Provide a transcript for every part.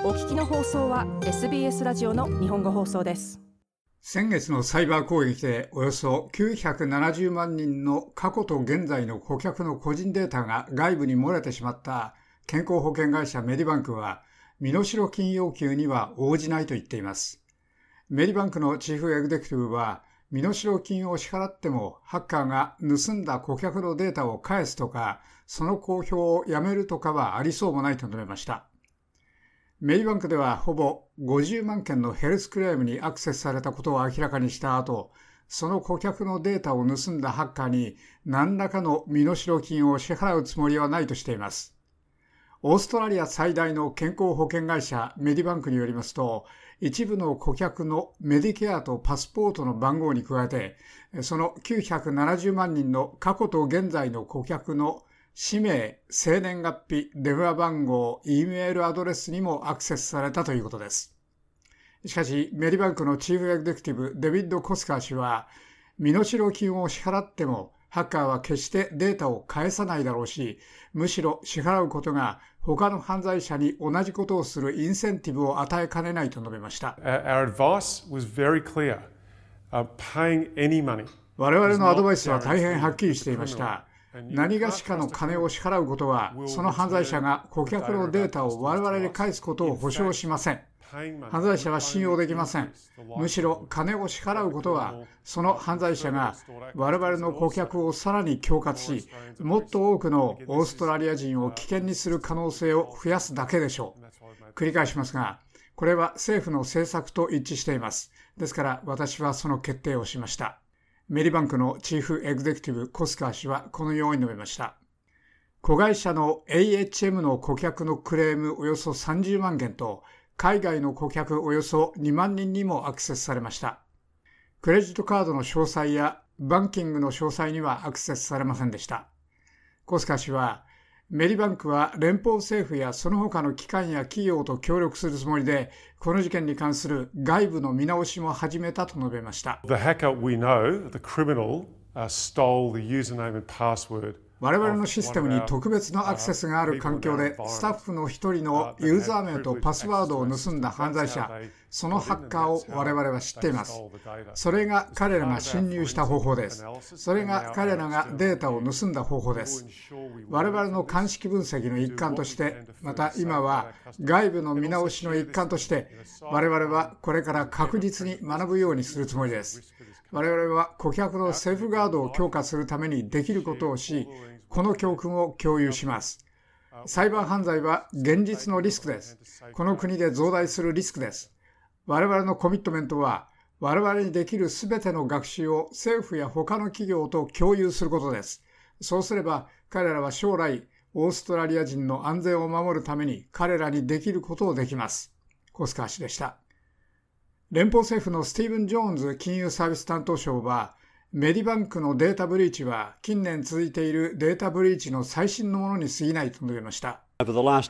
お聞きの放送は SBS ラジオの日本語放送です。 先月のサイバー攻撃でおよそ970万人の過去と現在の顧客の個人データが外部に漏れてしまった健康保険会社メディバンクは身代金要求には応じないと言っています。メディバンクのチーフエグゼクティブは身代金を支払ってもハッカーが盗んだ顧客のデータを返すとかその公表をやめるとかはありそうもないと述べました。メディバンクではほぼ50万件のヘルスクレームにアクセスされたことを明らかにした後、その顧客のデータを盗んだハッカーに何らかの身代金を支払うつもりはないとしています。オーストラリア最大の健康保険会社メディバンクによりますと、一部の顧客のメディケアとパスポートの番号に加えて、その970万人の過去と現在の顧客の氏名、生年月日、電話番号、Eメールアドレスにもアクセスされたということです。しかし、メディバンクのチーフエグゼクティブ、デビッド・コスカー氏は、身代金を支払っても、ハッカーは決してデータを返さないだろうし、むしろ支払うことが他の犯罪者に同じことをするインセンティブを与えかねないと述べました。 Our advice was very clear. Paying any money. 我々のアドバイスは大変はっきりしていました。何がしかの金を支払うことは、その犯罪者が顧客のデータを我々に返すことを保証しません。犯罪者は信用できません。むしろ金を支払うことは、その犯罪者が我々の顧客をさらに恐喝し、もっと多くのオーストラリア人を危険にする可能性を増やすだけでしょう。繰り返しますが、これは政府の政策と一致しています。ですから私はその決定をしました。メディバンクのチーフエグゼクティブコスカー氏はこのように述べました。子会社の AHM の顧客のクレームおよそ30万件と海外の顧客およそ2万人にもアクセスされました。クレジットカードの詳細やバンキングの詳細にはアクセスされませんでした。コスカー氏はメディバンクは連邦政府やその他の機関や企業と協力するつもりで、この事件に関する外部の見直しも始めたと述べました。 The hacker we know, the criminal, stole the username and password. 我々のシステムに特別のアクセスがある環境でスタッフの一人のユーザー名とパスワードを盗んだ犯罪者、そのハッカーを我々は知っています。それが彼らが侵入した方法です。それが彼らがデータを盗んだ方法です。我々の鑑識分析の一環として、また今は外部の見直しの一環として、我々はこれから確実に学ぶようにするつもりです。我々は顧客のセーフガードを強化するためにできることをし、この教訓を共有します。サイバー犯罪は現実のリスクです。この国で増大するリスクです。我々のコミットメントは、我々にできるすべての学習を政府や他の企業と共有することです。そうすれば、彼らは将来、オーストラリア人の安全を守るために彼らにできることをできます。コスカー氏でした。連邦政府のスティーブン・ジョーンズ金融サービス担当相は、メディバンクのデータブリーチは近年続いているデータブリーチの最新のものに過ぎないと述べました。これまでの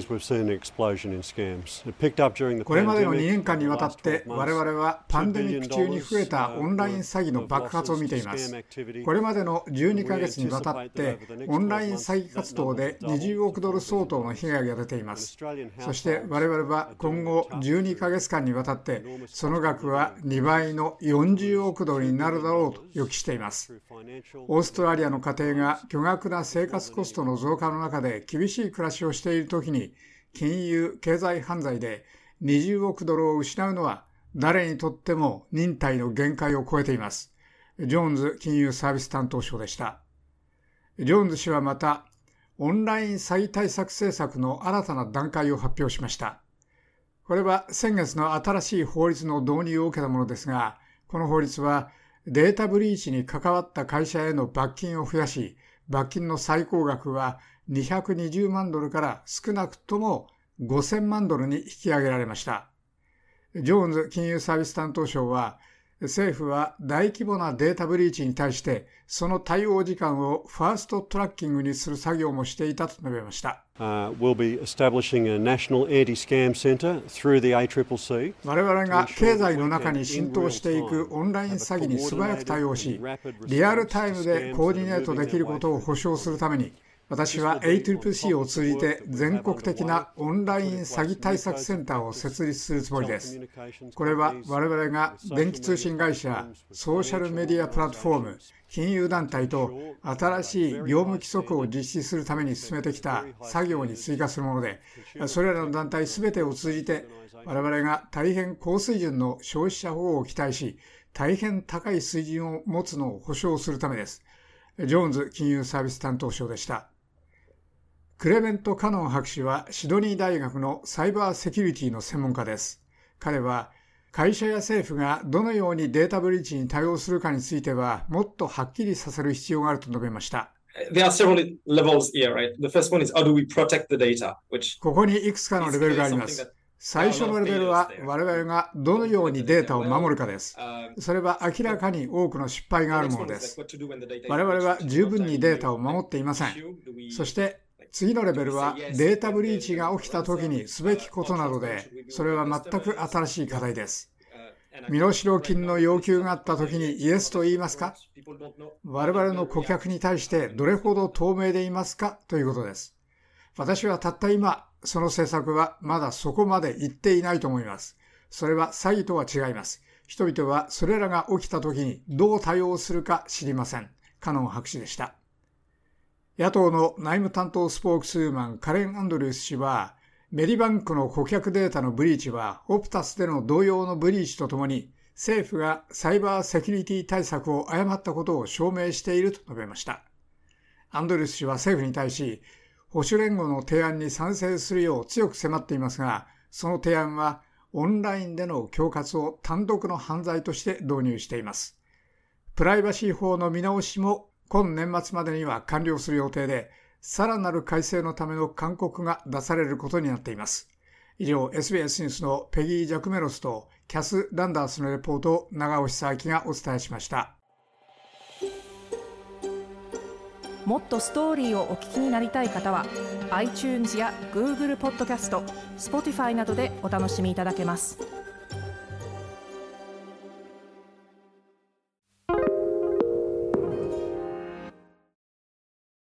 2年間にわたって我々はパンデミック中に増えたオンライン詐欺の爆発を見ています。これまでの12ヶ月にわたってオンライン詐欺活動で20億ドル相当の被害が出ています。そして我々は今後12ヶ月間にわたってその額は2倍の40億ドルになるだろうと予期しています。オーストラリアの家庭が巨額な生活コストの増加の中で厳しい暮らしをしているときに金融・経済犯罪で20億ドルを失うのは誰にとっても忍耐の限界を超えています。ジョーンズ金融サービス担当相でした。ジョーンズ氏はまたオンライン詐欺対策政策の新たな段階を発表しました。これは先月の新しい法律の導入を受けたものですが、この法律はデータブリーチに関わった会社への罰金を増やし、罰金の最高額は220万ドルから少なくとも5000万ドルに引き上げられました。ジョーンズ金融サービス担当相は、政府は大規模なデータブリーチに対してその対応時間をファーストトラッキングにする作業もしていたと述べました。 We'll be establishing a national anti-scam center through the ACCC. 我々が経済の中に浸透していくオンライン詐欺に素早く対応し、リアルタイムでコーディネートできることを保証するために、 私は ACCC を通じて全国的なオンライン詐欺対策センターを設立するつもりです。これは我々が電気通信会社、ソーシャルメディアプラットフォーム、金融団体と新しい業務規則を実施するために進めてきた作業に追加するもので、それらの団体すべてを通じて我々が大変高水準の消費者保護を期待し、大変高い水準を持つのを保証するためです。ジョーンズ金融サービス担当相でした。クレメント・カノン博士はシドニー大学のサイバーセキュリティの専門家です。彼は会社や政府がどのようにデータブリーチに対応するかについてはもっとはっきりさせる必要があると述べました。ここにいくつかのレベルがあります。最初のレベルは我々がどのようにデータを守るかです。それは明らかに多くの失敗があるものです。我々は十分にデータを守っていません。そして次のレベルはデータブリーチが起きた時にすべきことなどで、それは全く新しい課題です。身代金の要求があった時にイエスと言いますか？我々の顧客に対してどれほど透明でいますかということです。私はたった今、その政策はまだそこまで行っていないと思います。それは詐欺とは違います。人々はそれらが起きた時にどう対応するか知りません。カノン博士でした。野党の内務担当スポークスウーマンカレン・アンドリュース氏は、メディバンクの顧客データのブリーチはオプタスでの同様のブリーチとともに、政府がサイバーセキュリティ対策を誤ったことを証明していると述べました。アンドリュース氏は政府に対し、保守連合の提案に賛成するよう強く迫っていますが、その提案はオンラインでの恐喝を単独の犯罪として導入しています。プライバシー法の見直しも今年末までには完了する予定で、さらなる改正のための勧告が出されることになっています。以上、SBS ニュースのペギー・ジャクメロスとキャス・ランダースのレポートを長尾久明がお伝えしました。 もっとストーリーをお聞きになりたい方は iTunes や Google ポッドキャスト、Spotify などでお楽しみいただけます。